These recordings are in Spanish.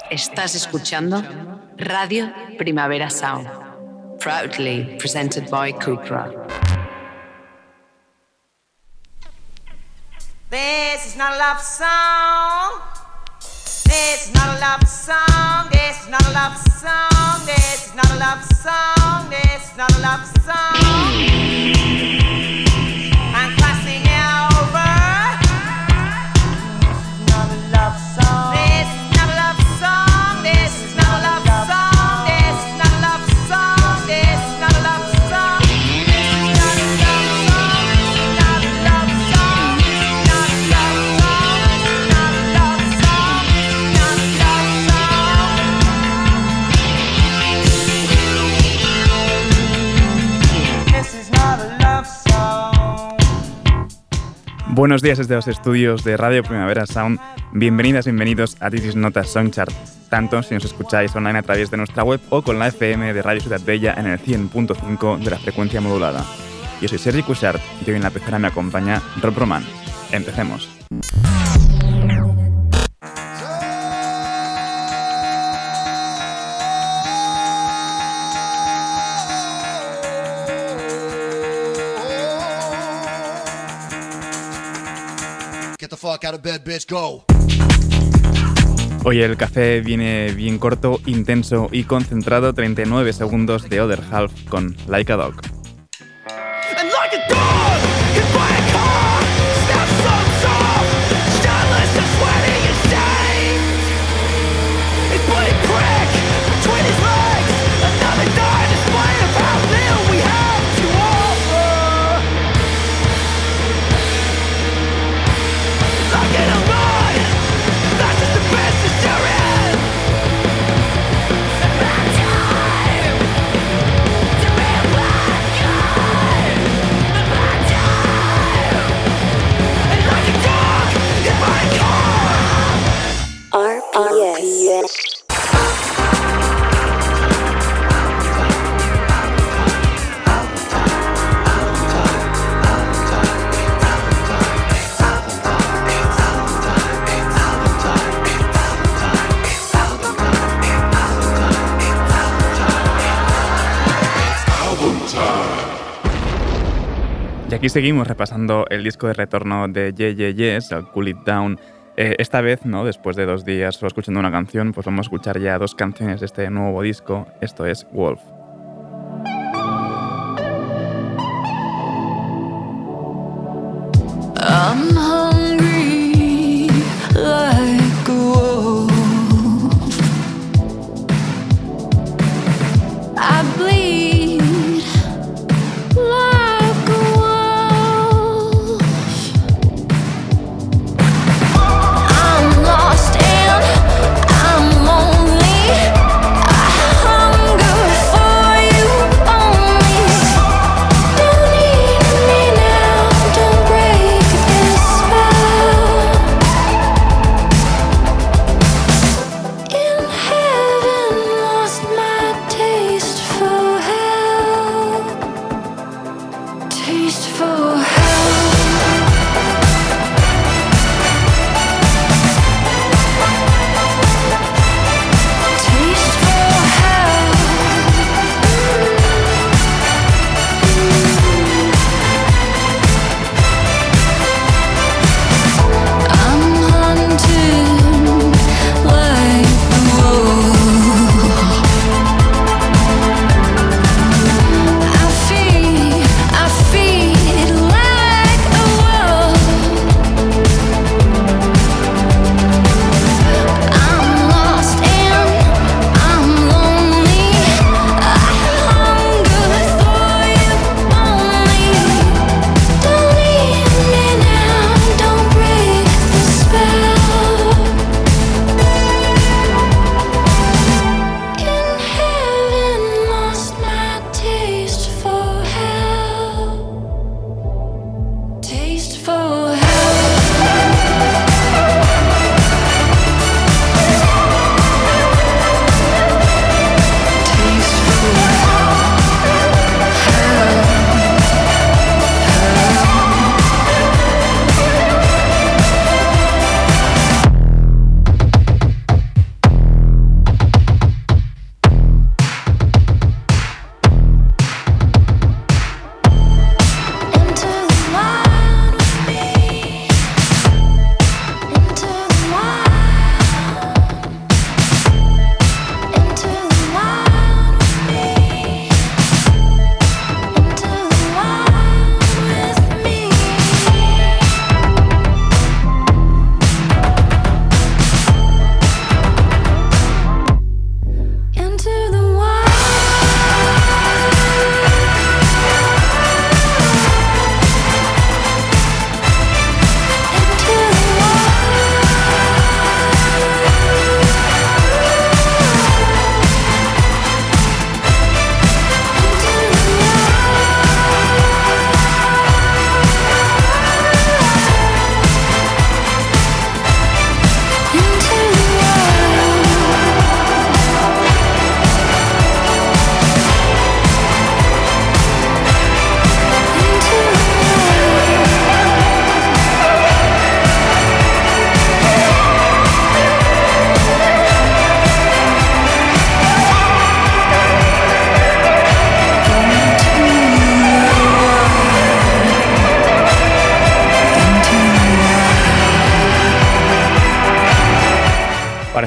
Estás escuchando Radio Primavera Sound, proudly presented by Cupra. This is not a love song. This is not a love song. This is not a love song. This is not a love song. This is not a love song. I'm crossing over. This is not a love song. This is not a love song. This is not a love song. This is not a love song. This is not a love song. This is not a love song. Not a love song. Not a love song. Not a love song. Not a love song. This is not a love song. Buenos días desde los estudios de Radio Primavera Sound. Bienvenidas, bienvenidos a This is Not a Song Chart, tanto si nos escucháis online a través de nuestra web o con la FM de Radio Ciudad Bella en el 100.5 de la frecuencia modulada. Yo soy Sergi Cuixart y hoy en la pecera me acompaña Rob Roman. Empecemos. Get the fuck out of bed, bitch, go. Hoy el café viene bien corto, intenso y concentrado. 39 segundos de Other Half con Like a Dog. And like a dog, hit by a car, steps so soft, starless and sweating and stained. His bloody prick between his legs, another dire display of how little we have to offer. Like in a mud, that's just the best that there is. About time to be a black guy. About time, and like a dog in my car. RPS. Y aquí seguimos repasando el disco de retorno de Yeah Yeah Yes, el Cool It Down. Esta vez, ¿no? Después de 2 días solo escuchando una canción, pues vamos a escuchar ya 2 canciones de este nuevo disco. Esto es Wolf. I'm hungry like a wolf. I bleed like a wolf. I'm lost and I'm lonely. I hunger for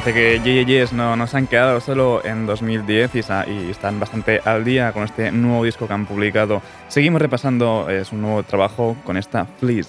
Parece que Yes no se han quedado solo en 2010 y están bastante al día con este nuevo disco que han publicado. Seguimos repasando su nuevo trabajo con esta Fleece.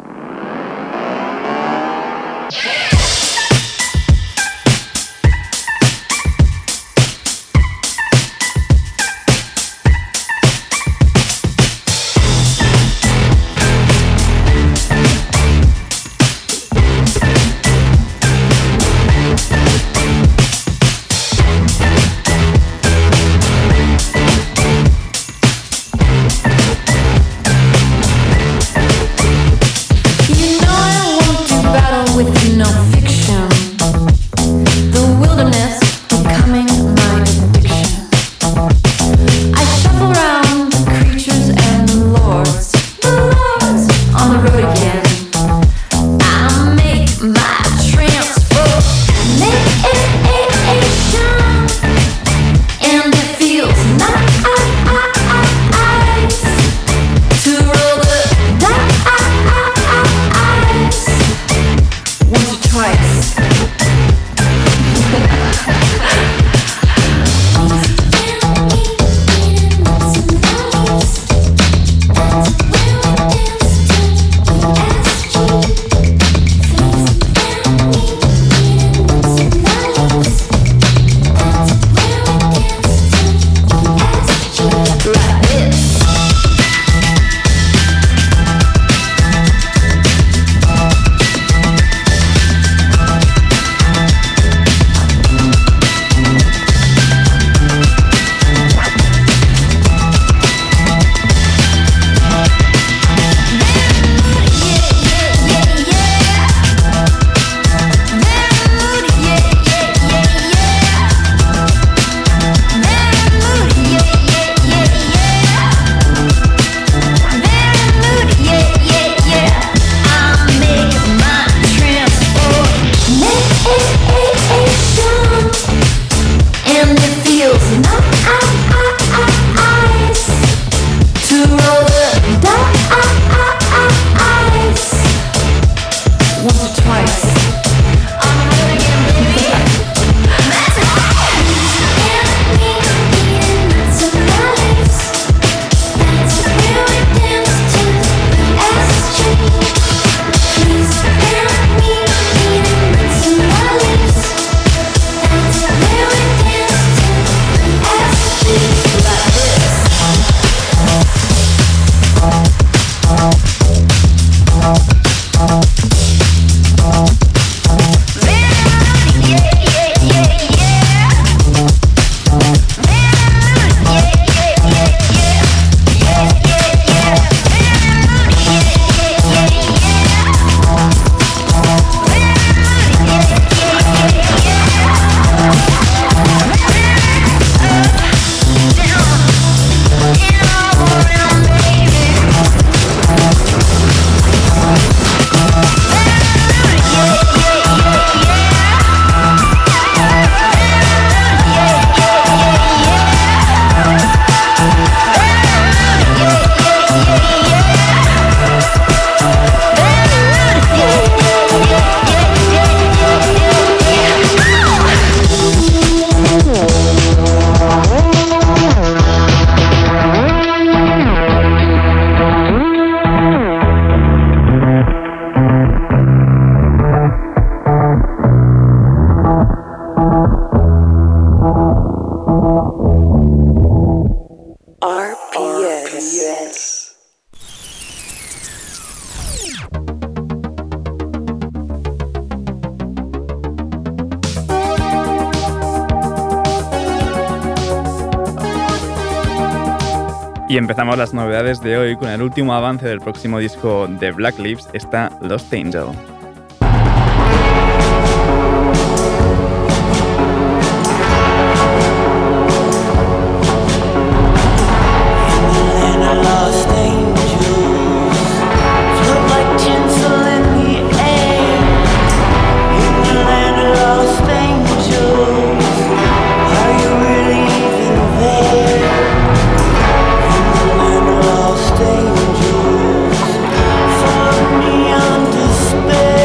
Y empezamos las novedades de hoy con el último avance del próximo disco de Black Lips, está Lost Angel. Despair.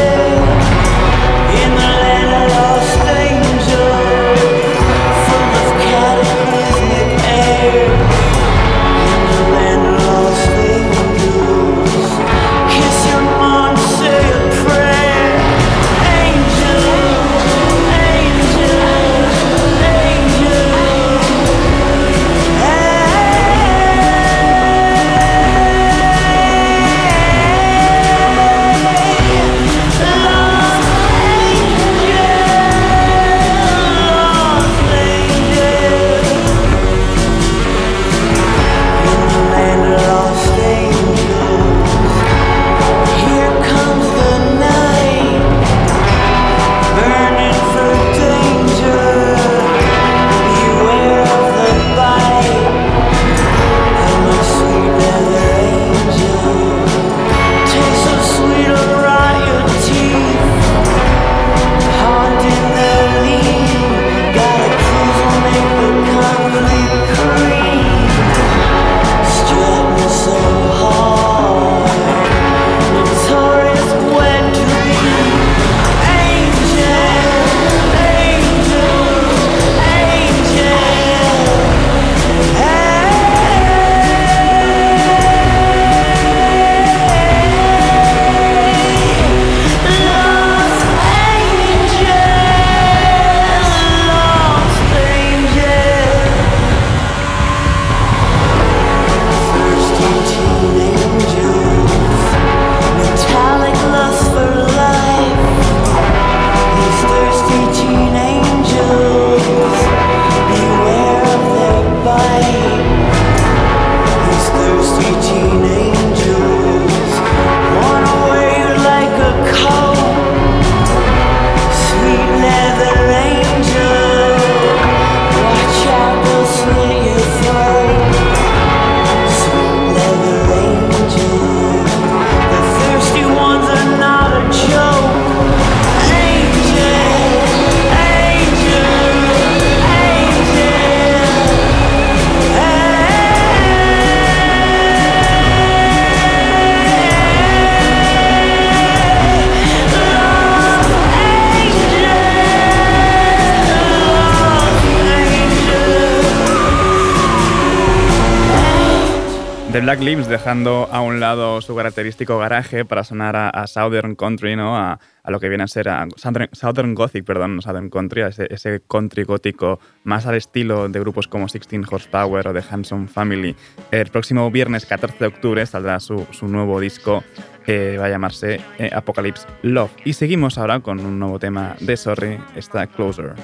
The Black Lips, dejando a un lado su característico garaje para sonar a Southern Country, ¿no? A lo que viene a ser Southern Gothic, perdón, no Southern Country, a ese country gótico más al estilo de grupos como 16 Horsepower o The Hanson Family. El próximo viernes 14 de octubre saldrá su nuevo disco, va a llamarse Apocalypse Love. Y seguimos ahora con un nuevo tema de Sorry, está Closer.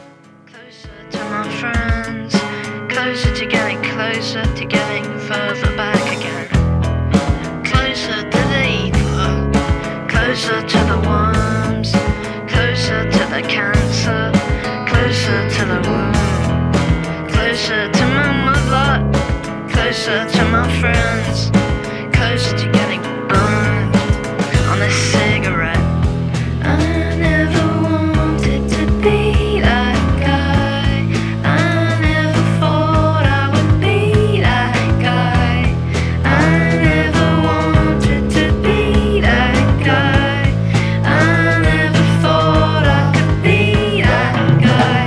Closer to getting further back again. Closer to the ether, closer to the worms, closer to the cancer, closer to the womb, closer to my mother, closer to my friends, closer to getting burned on a cigarette. I never wanted to be that guy. I never thought I would be that guy. I never wanted to be that guy. I never thought I could be that guy.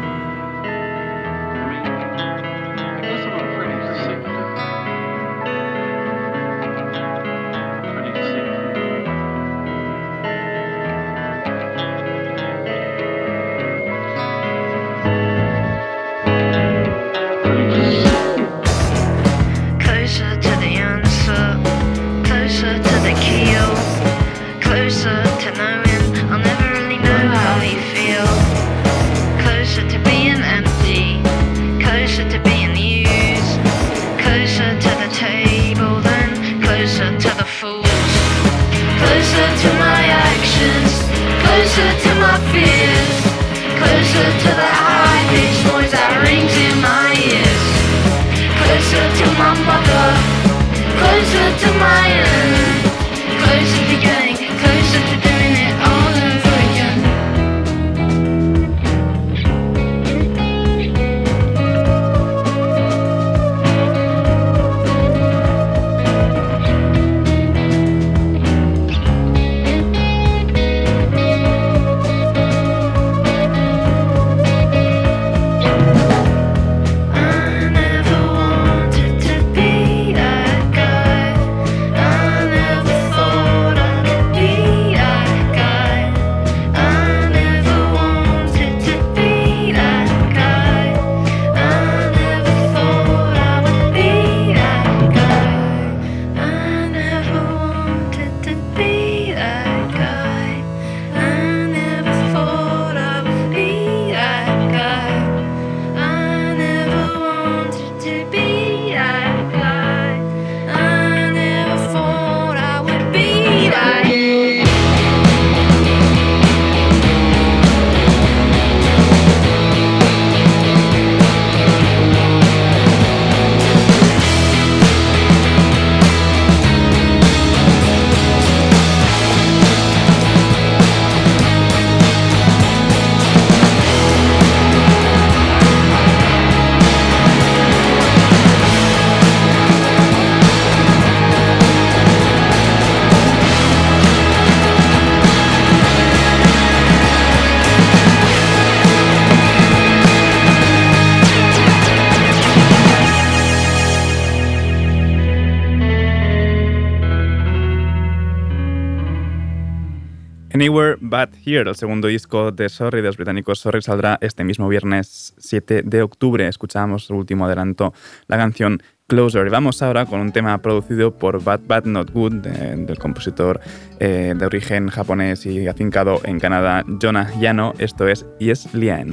Closer to the answer, closer to the keel, closer to knowing I'll never really know how you feel. Closer to being empty, closer to being used, closer to the table, then closer to the fools. Closer to my actions, closer to my fears, closer to the high-pitched noise that rings in my ears. Closer to my mother, closer to my end, closer to getting, closer to doing it all over again. I never wanted to be that guy. I never thought I could be that guy. I never wanted to be that guy. I never thought I would be that guy. I never wanted to be that guy. I never thought I would be that guy. I never wanted to be that guy. I never thought I would be that guy. Anywhere But Here, el segundo disco de Sorry, de los británicos Sorry, saldrá este mismo viernes 7 de octubre. Escuchábamos el último adelanto, la canción Closer. Y vamos ahora con un tema producido por Bad Bad Not Good, del compositor de origen japonés y afincado en Canadá, Jonah Yano. Esto es Yes Lian.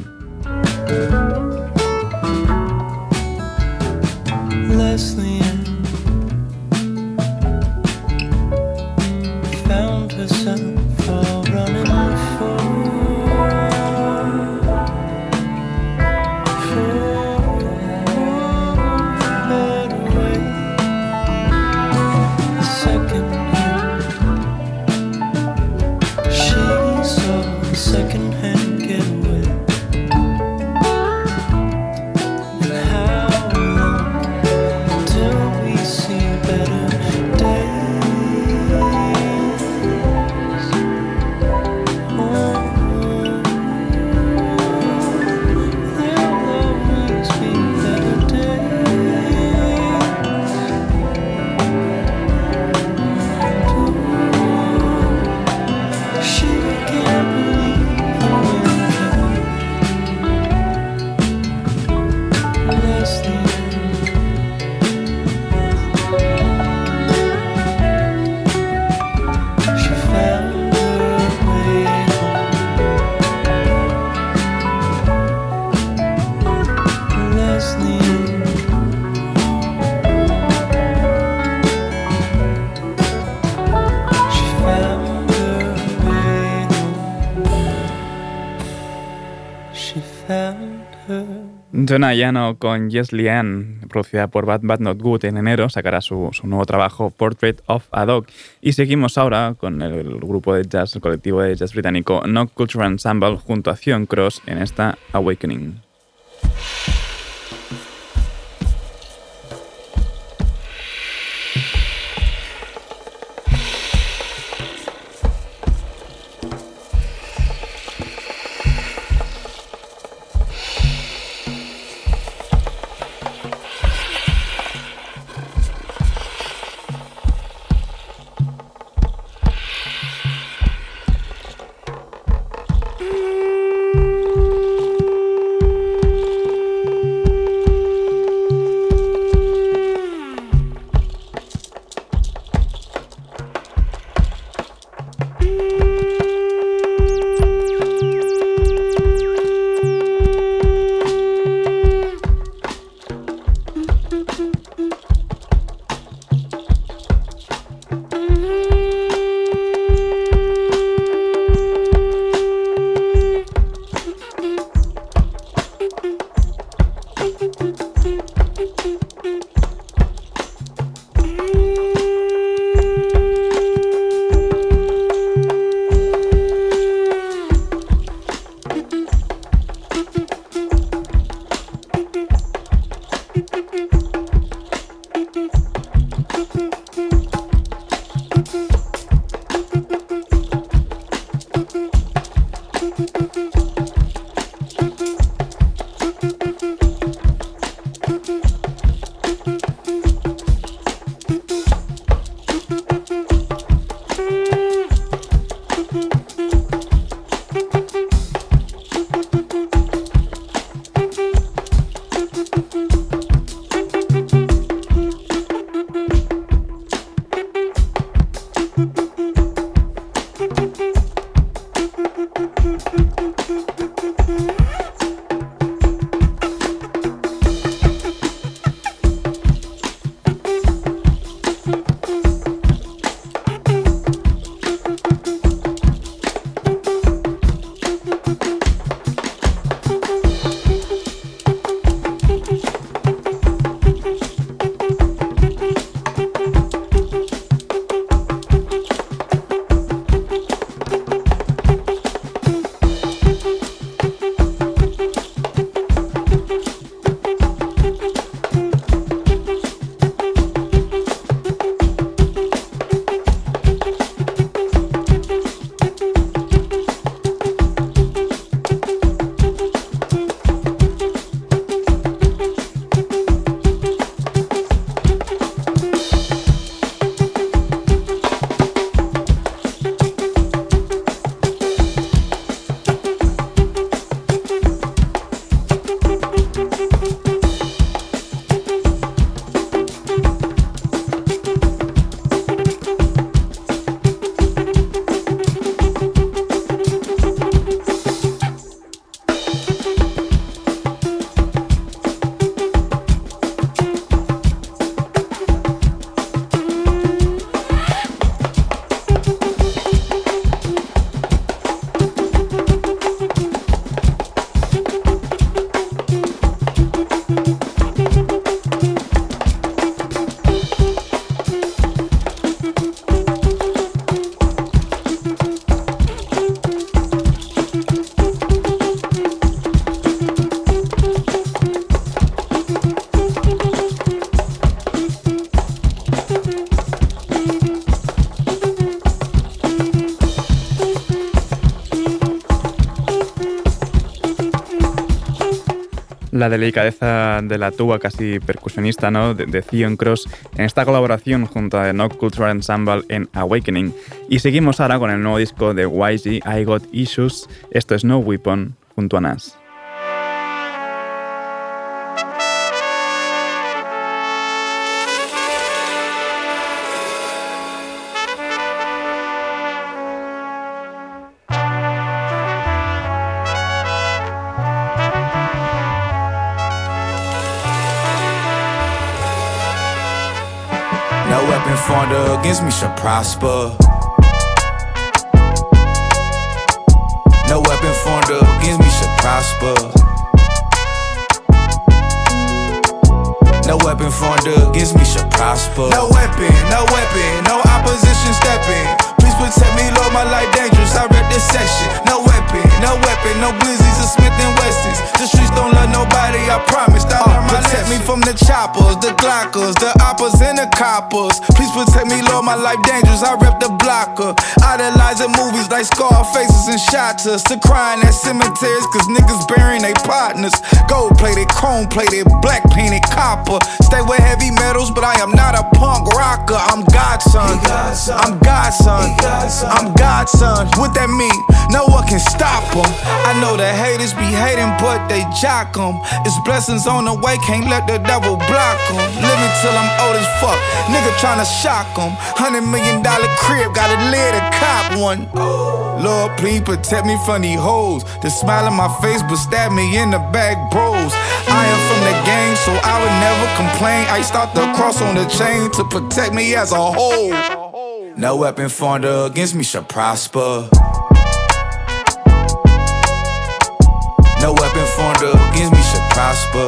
Leslie Ann found herself all running for a better way. Second hand, she saw a second hand getaway. And how long till Jonah Yano con Yes Leanne, producida por Bad Bad Not Good, en enero sacará su nuevo trabajo Portrait of a Dog. Y seguimos ahora con el grupo de jazz, el colectivo de jazz británico No Cultural Ensemble junto a Theon Cross en esta Awakening. la delicadeza de la tuba casi percusionista, ¿no?, de Theon Cross en esta colaboración junto a The No Cultural Ensemble en Awakening. Y seguimos ahora con el nuevo disco de YG, I Got Issues. Esto es No Weapon junto a Nas. Formed against me shall prosper. No weapon formed against me shall prosper. weapon formed against me shall prosper. No weapon, no opposition stepping. Please protect me, Lord, my life dangerous. I rep this section. No weapon, no glizzies or Smith & Wessons. The streets don't love nobody, I promise. I learned my protect lesson. Me from the choppers, the glockers, the oppers and the coppers. Please protect me, Lord, my life dangerous. I rep the blocker. Idolizing movies like Scarfaces and Shotters. To crying at cemeteries, cause niggas burying they partners. Gold plated, chrome plated, black painted copper. Stay with heavy metals, but I am not a punk rocker. I'm Godson. I'm Godson. I'm Godson. What that mean? No one can stop them. I know the haters be hating, but they jock them. It's blessings on the way, can't let the devil block them. Living till I'm old as fuck, nigga tryna shock them. $100 million crib, got a lid to cop one. Lord, please protect me from these hoes. They smile in my face, but stab me in the back, bros. I am from the gang, so I would never complain. I start the cross on the chain to protect me as a whole. No weapon formed against me shall prosper. No weapon formed against me shall prosper.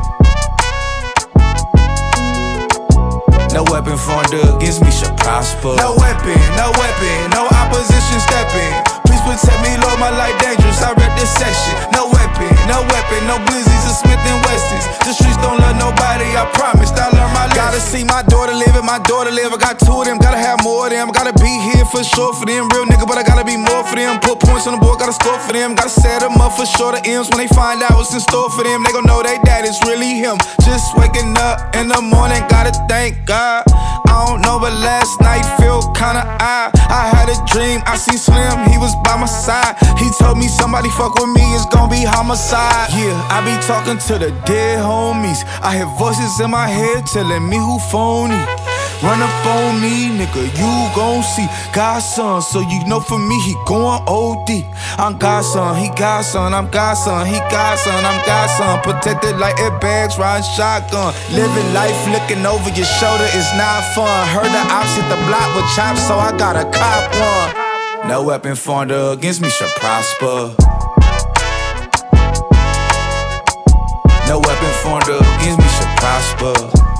No weapon formed against me shall prosper. No weapon, no opposition stepping. Please protect me, Lord, my life dangerous. I rep this section. No weapon, no glizzies or Smith & Wessons. The streets don't love nobody, I promised. I learned my lesson. Gotta see my daughter live and my daughter live. I got two of them, gotta have more of them. I gotta be here for sure for them. Real nigga, but I gotta be more for them. Put points on the board, gotta score for them. Gotta set them up for sure. The M's when they find out what's in store for them, they gon' know they dad is really him. Just waking up in the morning, gotta thank God. I don't know, but last night felt kinda odd. I had a dream, I seen Slim, he was by my side. He told me somebody fuck with me, it's gon' be homicide. Yeah, I be talking to the dead homies. I hear voices in my head telling me who phony. Run up on me, nigga, you gon' see God's son, so you know for me he going OD. I'm God's son, he God's son, I'm God's son, he God's son, I'm God's son. Protected like airbags, riding shotgun. Living life looking over your shoulder is not fun. Heard the ops hit the block with chops, so I gotta cop one. No weapon formed against me shall prosper. No weapon formed against me shall prosper.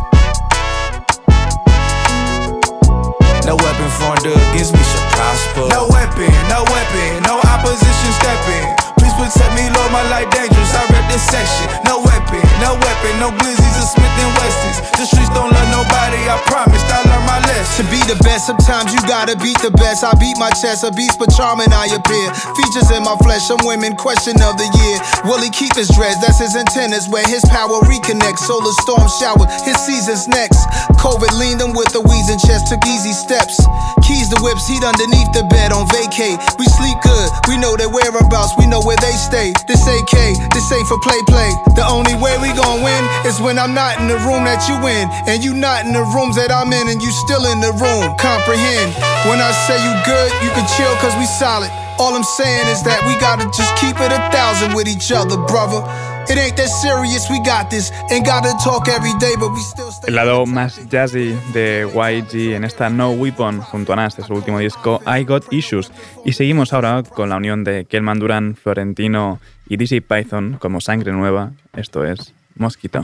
No weapon formed against me shall prosper. No weapon, no opposition stepping. Please protect me, Lord, my life dangerous. I rep this section. No weapon, no glizzies or Smith & Wessons. The streets don't love nobody, I promised. I learned my lesson. To be the best, sometimes you gotta beat the best. I beat my chest, a beast but charming I appear. Features in my flesh, some women question of the year. Will he keep his dreads? That's his antennas where his power reconnects. Solar storm shower, his season's next. COVID leaned him with a wheezing chest, took easy steps. Keys to whips, heat underneath the bed on vacay. We sleep good, we know their whereabouts, we know where they stay. This AK, this ain't for play. The only way we gon' win is when I'm not in the room that you in, and you not in the rooms that I'm in, and you still in the room. Comprehend, when I say you good, you can chill cause we solid. All I'm saying is that we gotta just keep it 1,000 with each other, brother. It ain't that serious, we got this. Ain't gotta talk every day, but we still stay. El lado más jazzy de YG en esta No Weapon junto a Nas de su último disco I Got Issues. Y seguimos ahora con la unión de Kelman Duran, Florentino y DJ Python como Sangre Nueva. Esto es Mosquito.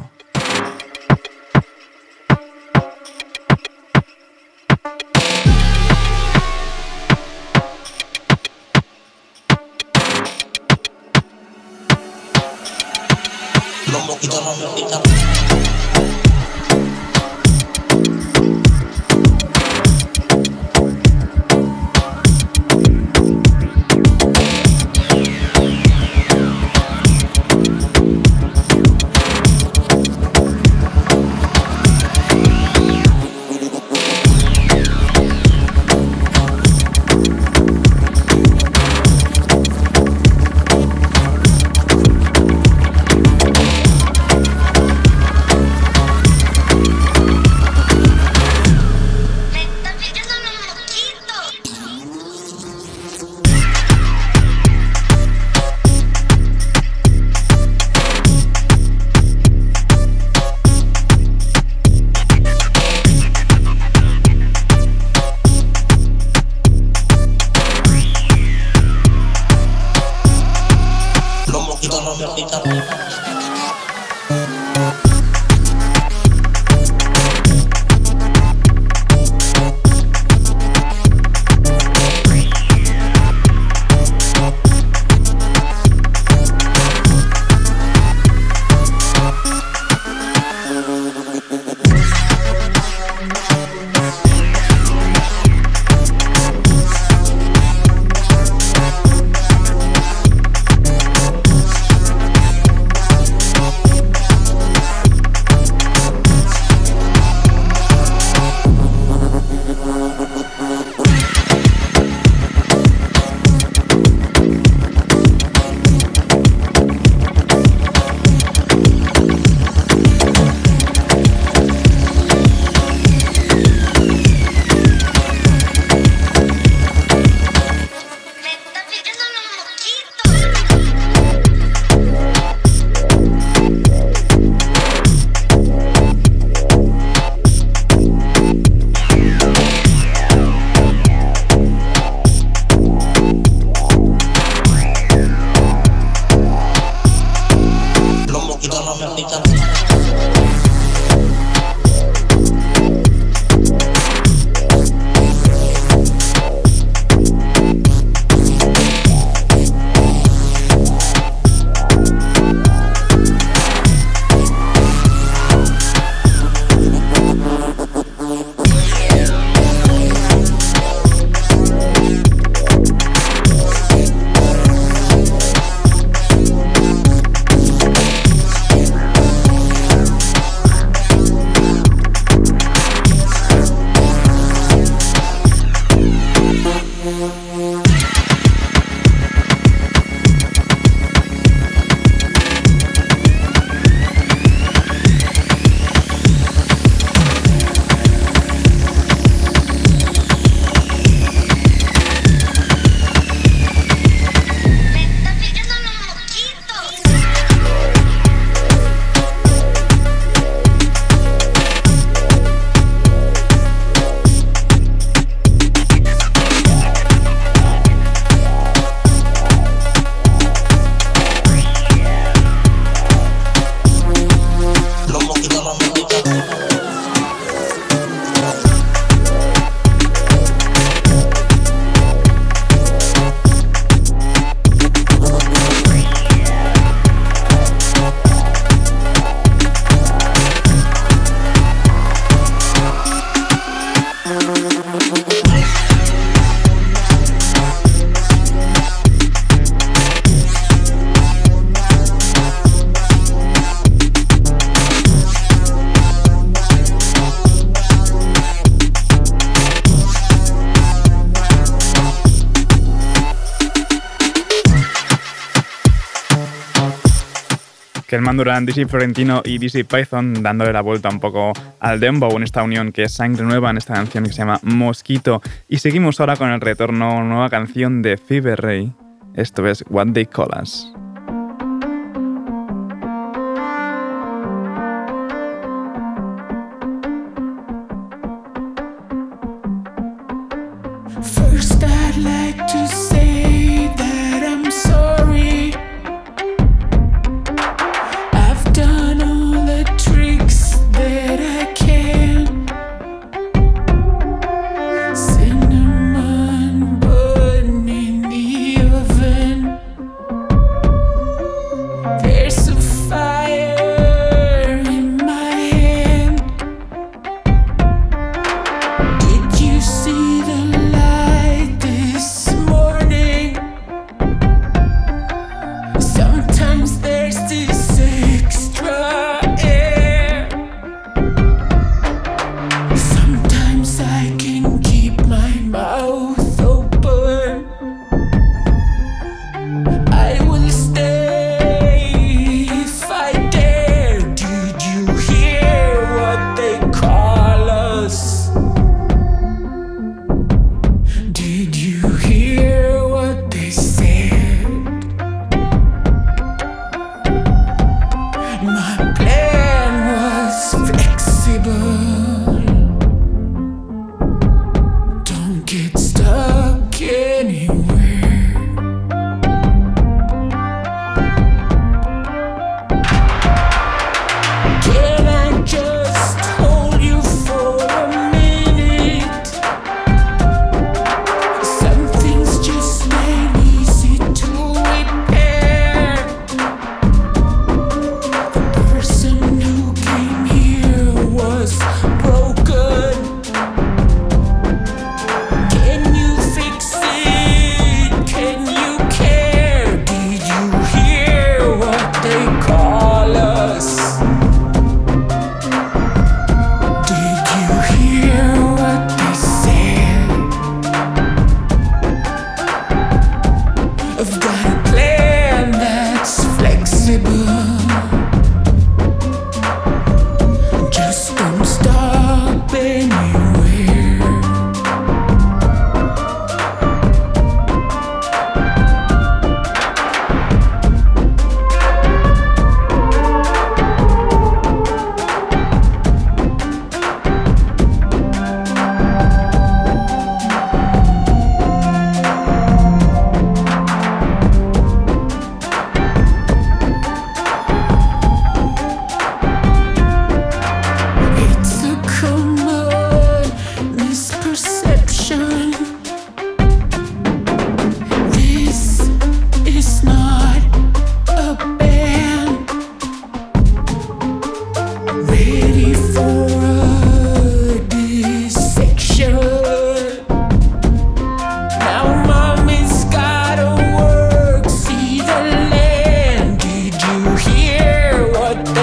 mamita. Kelman Durán, DC Florentino y DC Python dándole la vuelta un poco al dembow en esta unión que es sangre nueva en esta canción que se llama Mosquito. Y seguimos ahora con el retorno, nueva canción de Fever Ray. Esto es What They Call Us. First, I'd like to say that I'm sorry. I've done all the tricks that I can. Cinnamon bun in the oven. There's a fire in my hand. Did you see the light this morning? Sometimes there's this extra air. Sometimes I can keep my mouth open. I will stay if I dare. Did you hear what they call us? Did you hear what they said? My plan was flexible. Don't get stuck anywhere. Can I just hold you for a minute? Some things just ain't easy to repair. The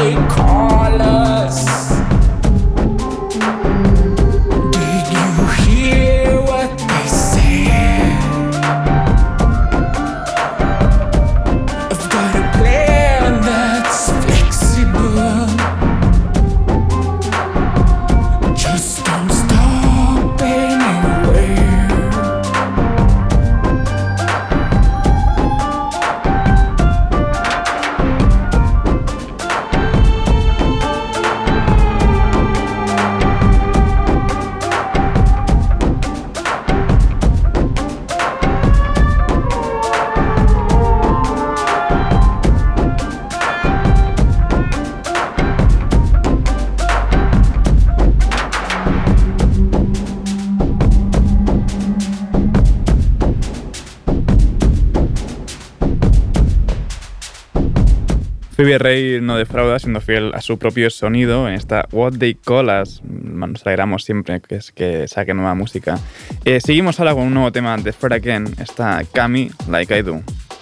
they call us. Did you hear what they said? I've got a plan that's flexible. Just don't stop anywhere. Phoebe Rey no defrauda, siendo fiel a su propio sonido en esta What They Call Us. Nos alegramos siempre que saque nueva música. Seguimos ahora con un nuevo tema de Fred Again, está Cami Like I Do.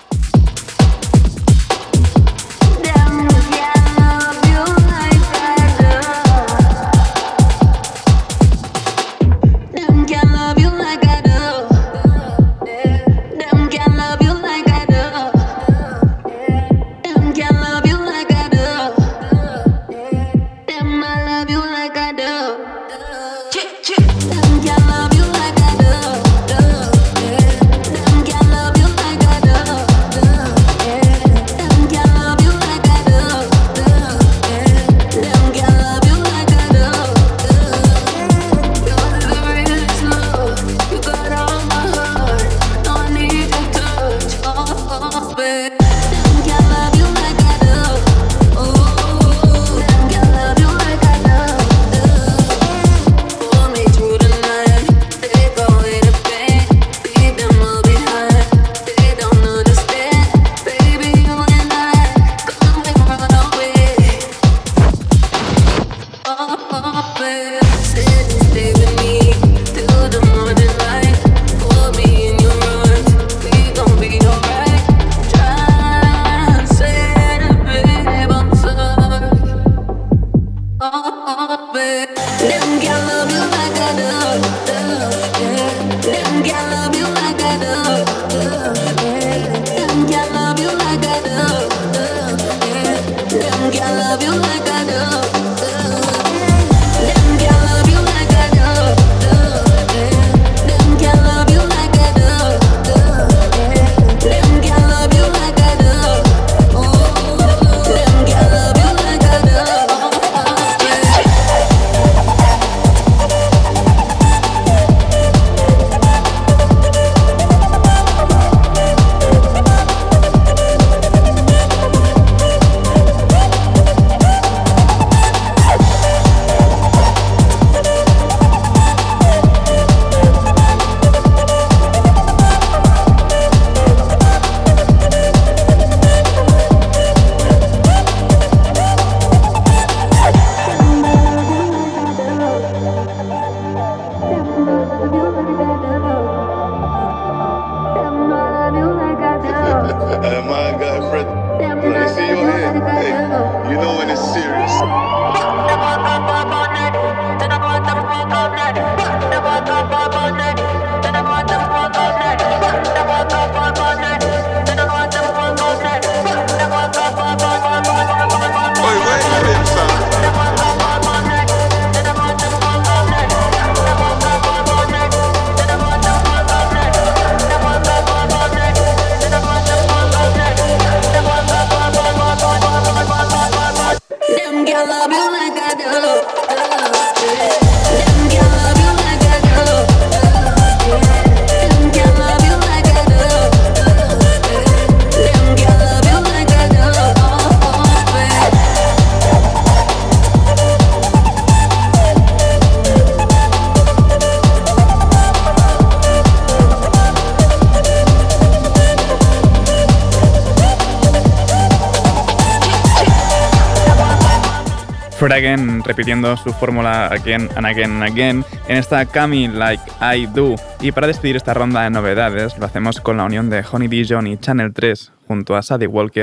Fred Again repitiendo su fórmula again and again and again en esta Cami Like I Do. Y para despedir esta ronda de novedades lo hacemos con la unión de Honey Dijon y Channel 3 junto a Sadie Walker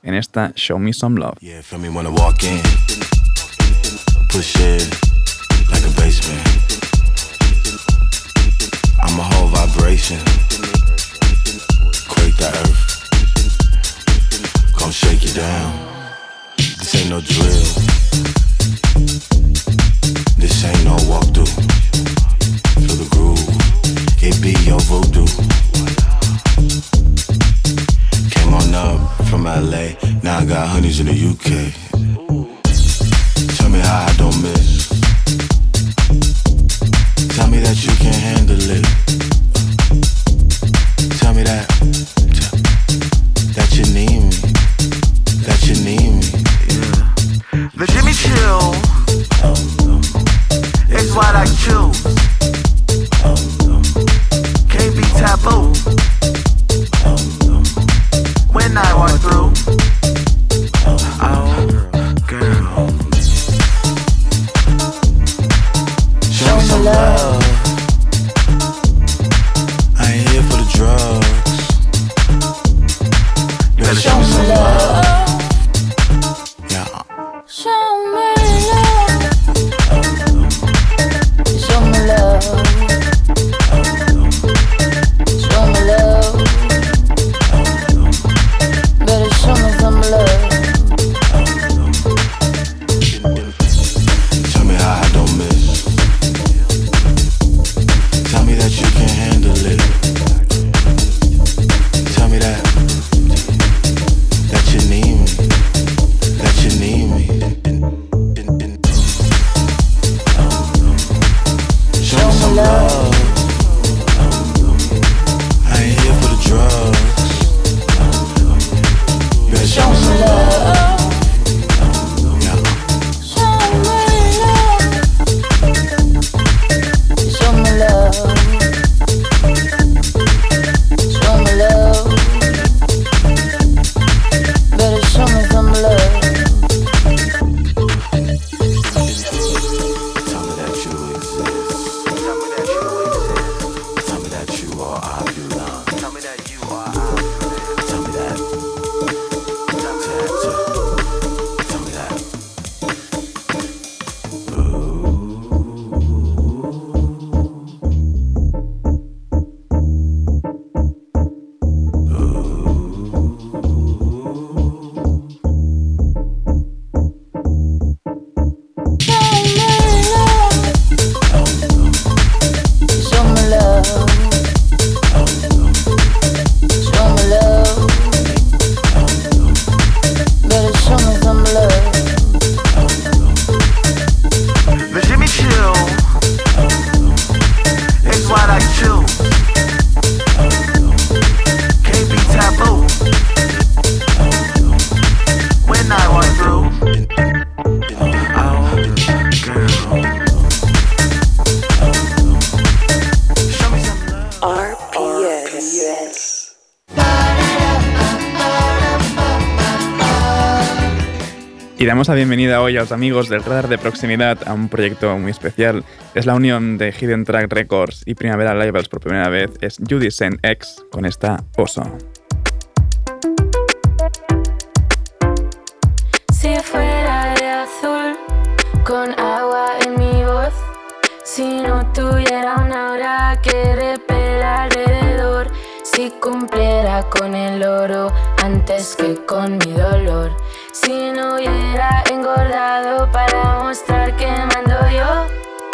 en esta Show Me Some Love. Yeah, feel me when I walk in. Push it like a basement. I'm a whole vibration. Quake the earth. Gon' shake you down. This ain't no drill. This ain't no walkthrough. Feel the groove. It be your voodoo. Came on up from LA. Now I got honeys in the UK. Tell me how I don't miss. Tell me that you can't handle it. Tell me that you need me. That you need me. Yeah. The Jimmy Chill is what I choose. Can't be taboo. When I walk through. Oh, girl. Show me some love. I ain't here for the drugs. Better show me some love. Yeah. Show me love. Show me love. Show me love. Better show me some love. Tell me how I don't miss. Tell me that you can't handle it. Tell me that you need me. That you need me. Show me some love. I ain't here for the drugs. Better show me some love. Yeah. Show me love. Show me love. Better show me some love. Tell me that you exist. Tell me that you exist. Tell me that you are I belong. Tell me that you are I belong. Tell me that. Tell me that. Show me love. Show me love. Better show me some love. The Jimmy Chill is what I choose. Can't be taboo. When I walk through. Oh, girl. Show me some love. RPS. Y damos la bienvenida hoy a los amigos del Radar de Proximidad a un proyecto muy especial. Es la unión de Hidden Track Records y Primavera Labels por primera vez. Es Judy Sen X con esta Oso. Si fuera de azul, con agua en mi voz, si no tuviera una aura que repela alrededor, si cumpliera con el oro antes que con mi dolor, si no hubiera engordado para mostrar que mando yo,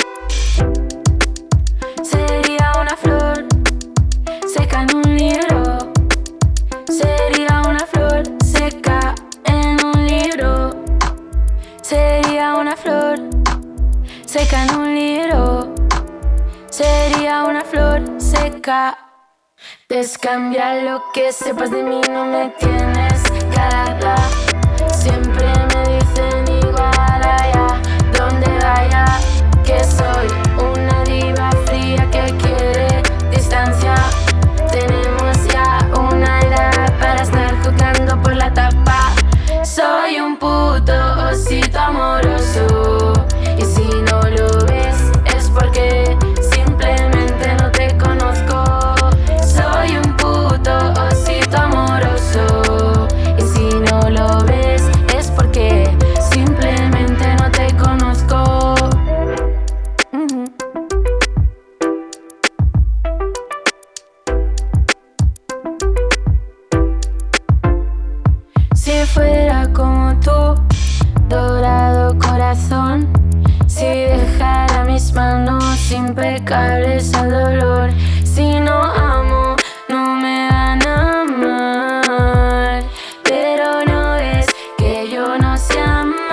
sería una flor seca en un libro, sería una flor seca en un libro, sería una flor seca en un libro, sería una flor seca. Descambia lo que sepas de mí, no me tienes calada. Siempre me dicen igual allá donde vaya, que soy una diva fría que quiere distancia. Tenemos ya una edad para estar jugando por la tapa. Soy un puto osito amoroso, y si no lo ves es porque simplemente no te conozco. Soy un puto osito amoroso, y si no lo corazón. Si dejara mis manos impecables al dolor. Si no amo, no me van a amar. Pero no es que yo no sé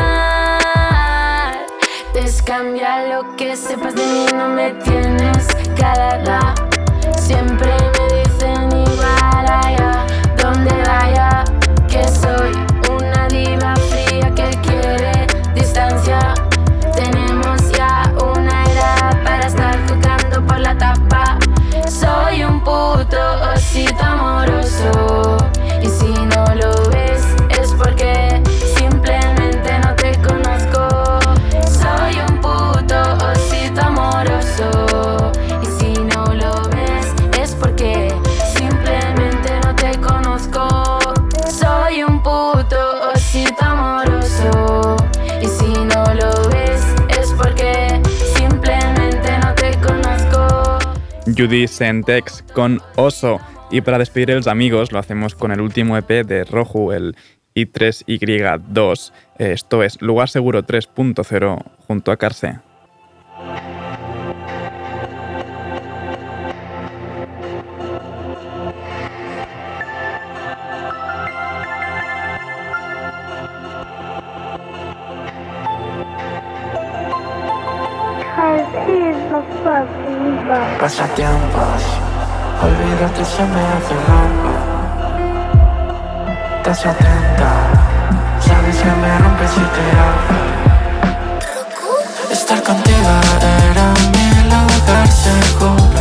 amar. Descambia lo que sepas de mí, no me tienes que alargar. Siempre me dicen igual allá, donde vaya, que soy una diva fría que quiere distancia. Tenemos ya una edad para estar jugando por la tapa. Soy un puto osito amoroso. Y si no lo ves es porque simplemente no te conozco. Soy un puto osito amoroso. Y si no lo ves es porque simplemente no te conozco. Soy un puto osito amoroso. Y si no lo ves es porque simplemente no te conozco. Judy Sentex con Oso. Y para despedir a los amigos lo hacemos con el último EP de Roju, el I3Y2. Esto es Lugar Seguro 3.0 junto a Carse. Pasatiempos, olvídate, se me hace largo. Estás atenta, sabes que me rompes y te hago. Estar contigo era mi lugar seguro.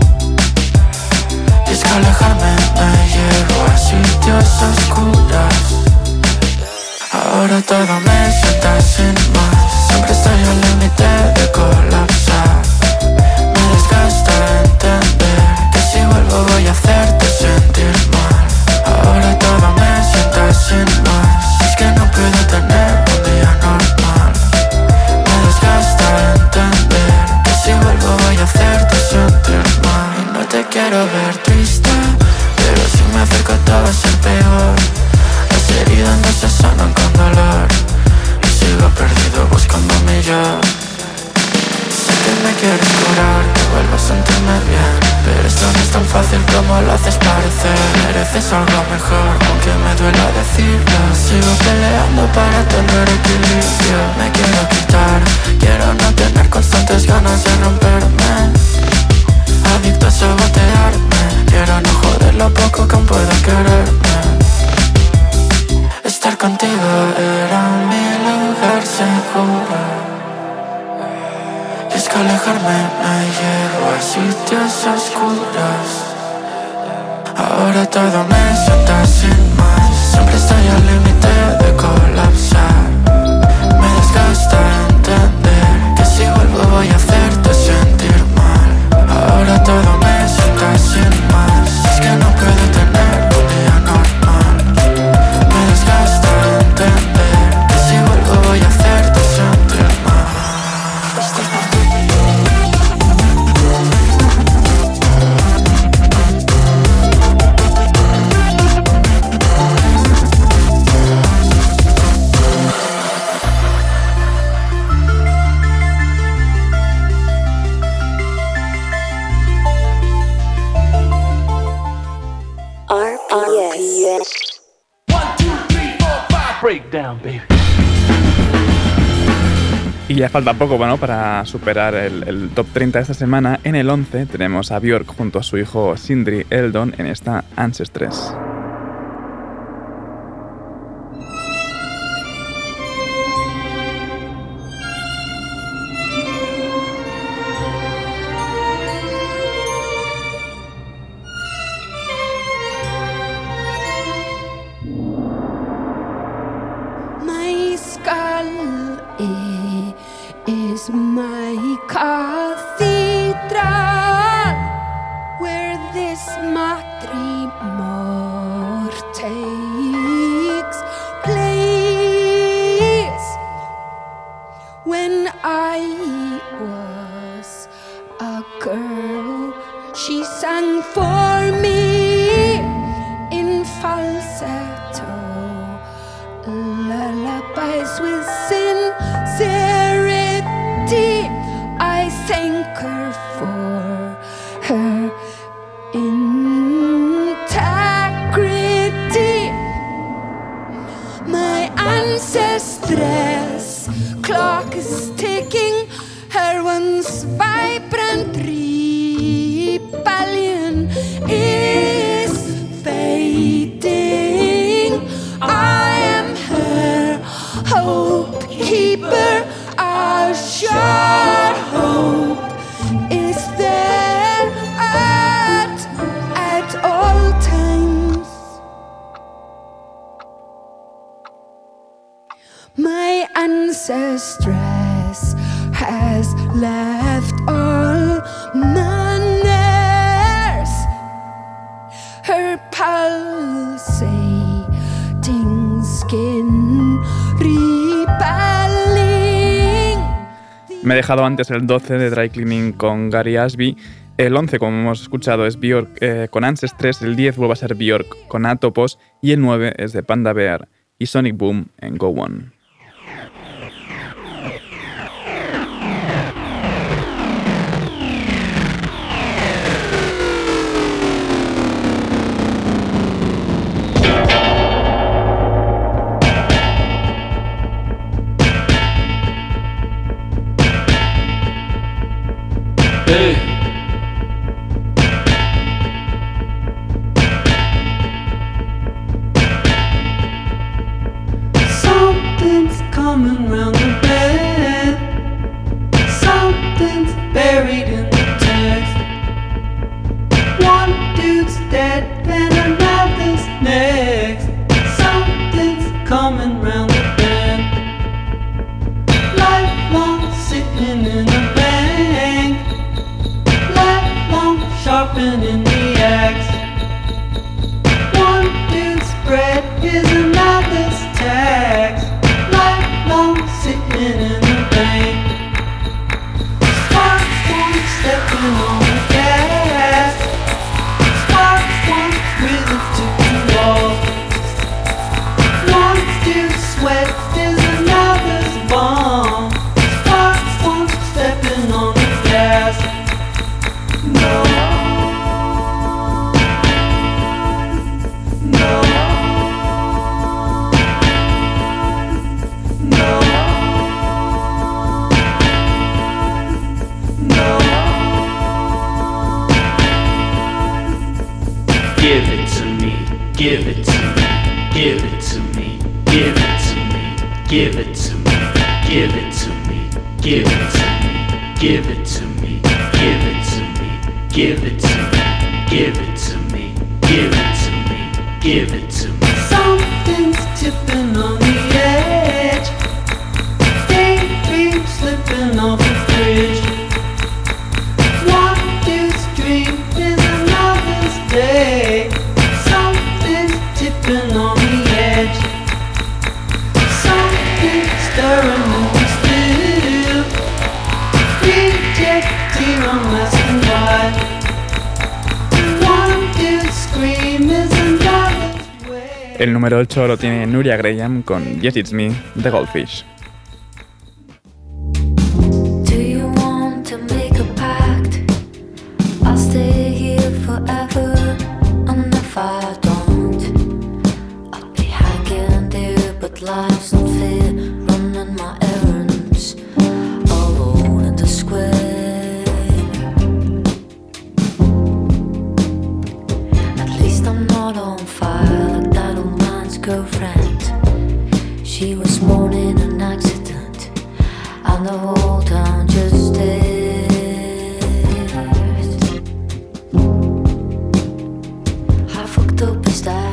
Y es que alejarme me llevo a sitios oscuros. Ahora todo me sienta sin más. Siempre estoy al límite de colapsar. Me desgasta entender que si vuelvo voy a hacerte sentir mal. Ahora todo me sienta sin más. Es que no puedo tener un día normal. Me desgasta entender que si vuelvo voy a hacerte sentir mal. Y no te quiero ver triste, pero si me acerco todo va a ser peor. Las heridas no se sanan con dolor. Y sigo perdido buscando mi yo. Sé que me quieres curar, que vuelvo a sentirme bien, pero esto no es tan fácil como lo haces parecer. Mereces algo mejor, aunque me duela decirlo. Sigo peleando para tener equilibrio. Me quiero quitar, quiero no tener constantes ganas de romperme. Adicto a sabotearme, quiero no joder lo poco que aún puedo quererme. Estar contigo era mi lugar seguro. Y es que alejarme me llevo a sitios oscuros. Ahora todo me sienta sin más. Siempre estoy al límite de colapsar. Me desgasta entender que si vuelvo voy a hacerte sentir mal. Ahora todo me sienta sin más. Es que no puedo tener un día normal. Me desgasta entender que si vuelvo voy a hacerte sentir mal. RPS. 1, 2, 3, 4, 5. Breakdown, baby. Y ya falta poco, bueno, para superar el top 30 de esta semana. En el 11 tenemos a Björk junto a su hijo Sindri Eldon en esta Ancestres. My skull is my cathedral, where this matrimor takes place. When I was a girl, she sang for me in falsetto, lullabies with sin. sucker for her integrity. My ancestress clock is ticking. Her once vibrant rebellion is fading. I am her hope keeper. Our sure hope is there at all times. My ancestress has left all manners. Her pulsating skin repelling. Me he dejado antes el 12 de Dry Cleaning con Gary Ashby. El 11, como hemos escuchado, es Björk con Ancestres. El 10 vuelve a ser Björk con Atopos. Y el 9 es de Panda Bear y Sonic Boom en Go On. Something's coming round the bend. Something's buried in the text. One dude's dead and another's next. Something's coming round the bend. Lifelong sitting in a bank. Lifelong sharpening the axe. One dude's bread is another's tax. Lifelong sitting in the bank. Sparks one stepping on the gas. Sparks one with it to wall. One dude's sweat is another's bomb. Sparks one stepping on the gas. No. No. No. No. Give it to me, give it to me, give it to me, give it to me, give it to me, give it to me, give it to me, give it to me, give it to me, give it to me, give it to me, give it to me, give it to me. Something's tipping on the edge. Daydream slipping off the bridge. One dude's dream is another's day. Something's tipping on the edge. Something's stirring in the still. Reject tear on masking wide. One dude's scream is another's way. El número 8 lo tiene Nuria Graham con Yes It's Me, The Goldfish. Do you want to make a pact? I'll stay here forever. And if I don't, I'll be hanging there. But life's not fair, running my errands alone in the square. At least I'm not on fire like that old man's girlfriend. She was born in an accident, and the whole town just stared. How fucked up is that?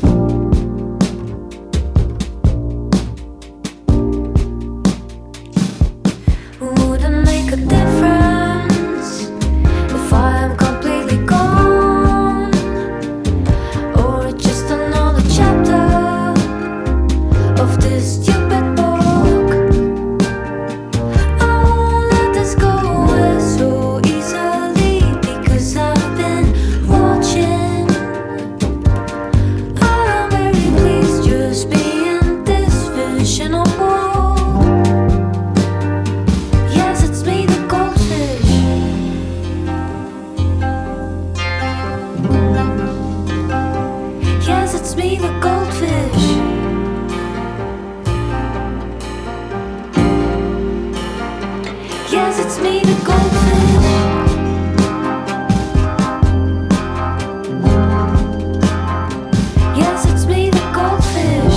Wouldn't make a difference if I am completely gone, or it's just another chapter of this stupid book. I me, the goldfish. Yes, it's me, the goldfish.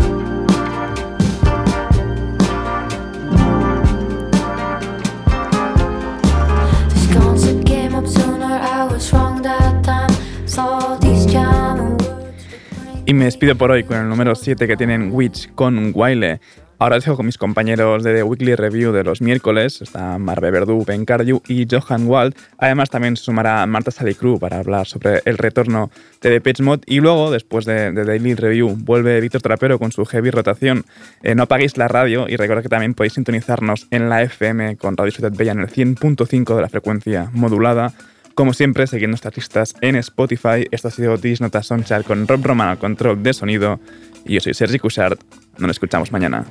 The scones that came up sooner, I was wrong that time. Saw these jamming words. Y me despido por hoy con el número 7 que tienen Witch con Wiley. Ahora os dejo con mis compañeros de The Weekly Review de los miércoles. Está Marve Verdú, Ben Cardew y Johan Wald. Además también se sumará Marta Salicru para hablar sobre el retorno de Depeche Mode. Y luego, después de Daily Review, vuelve Víctor Trapero con su heavy rotación. No apaguéis la radio y recordad que también podéis sintonizarnos en la FM con Radio Ciutat Bella en el 100.5 de la frecuencia modulada. Como siempre, seguid nuestras listas en Spotify. Esto ha sido This Nota Soundchart con Rob Roman al control de sonido. Y yo soy Sergi Cuixart. Nos escuchamos mañana.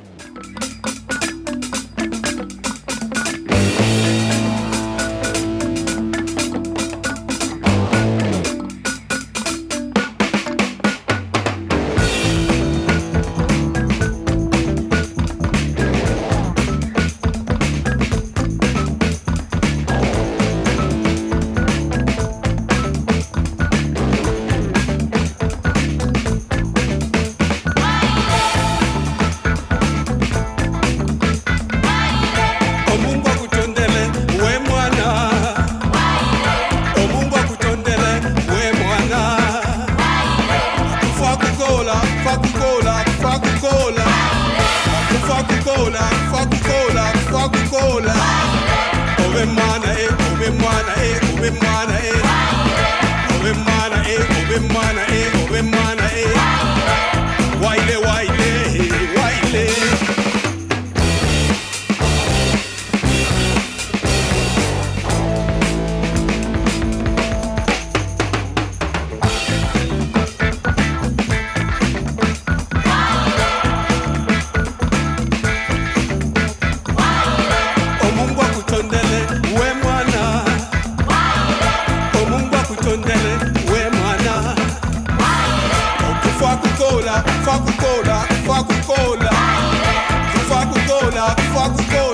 Coca-Cola, Coca-Cola, Coca-Cola, Coca-Cola, Coca-Cola.